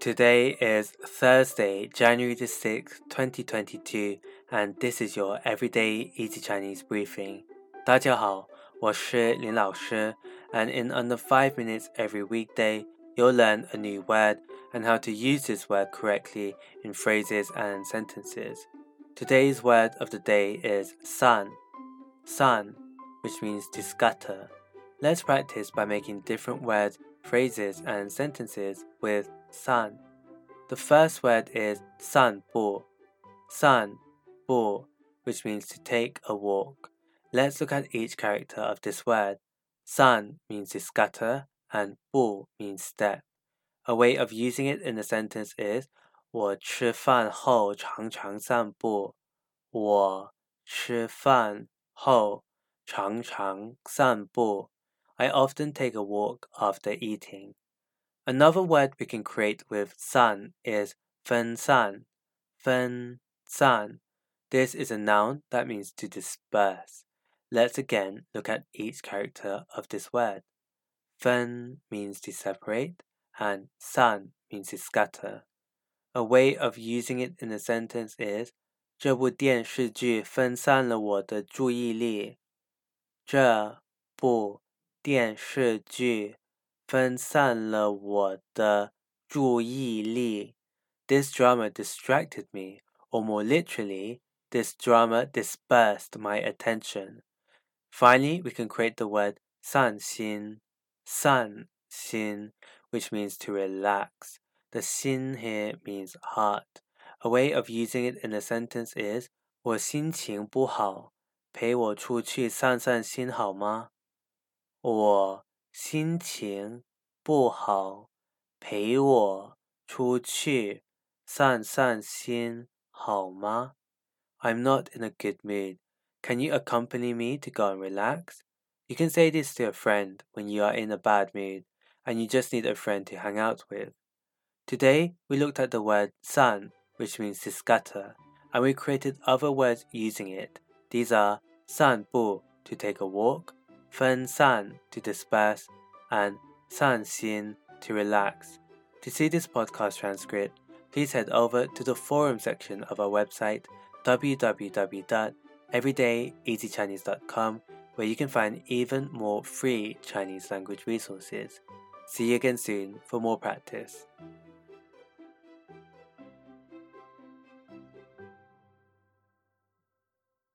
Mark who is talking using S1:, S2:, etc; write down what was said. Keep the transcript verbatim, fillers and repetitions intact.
S1: Today is Thursday, January the sixth, twenty twenty-two, and this is your Everyday Easy Chinese Briefing. 大家好，我是林老师, and in under five minutes every weekday, you'll learn a new word and how to use this word correctly in phrases and sentences. Today's word of the day is san, san, which means to scatter. Let's practice by making different words, phrases, and sentences with san. The first word is san bu, san bu, which means to take a walk. Let's look at each character of this word. San means to scatter and bu means step. A way of using it in a sentence is 我吃饭后常常散步。我吃饭后常常散步。I often take a walk after eating. Another word we can create with san is 分散, 分散. This is a noun that means to disperse. Let's again look at each character of this word. 分 means to separate and san means to scatter. A way of using it in a sentence is 这部电视剧分散了我的注意力。这部电视剧分散了我的注意力。This drama distracted me, or more literally, this drama dispersed my attention. Finally, we can create the word 散心, 散心, which means to relax. The 心 here means heart. A way of using it in a sentence is 我心情不好，陪我出去散散心好吗？我心情不好，陪我出去散散心好吗？ I'm not in a good mood. Can you accompany me to go and relax? You can say this to a friend when you are in a bad mood and you just need a friend to hang out with. Today, we looked at the word san, which means to scatter, and we created other words using it. These are 散步 to take a walk, 分散 to disperse, and 散心 to relax. To see this podcast transcript, please head over to the forum section of our website, w w w dot everyday easy chinese dot com, where you can find even more free Chinese language resources. See you again soon for more practice.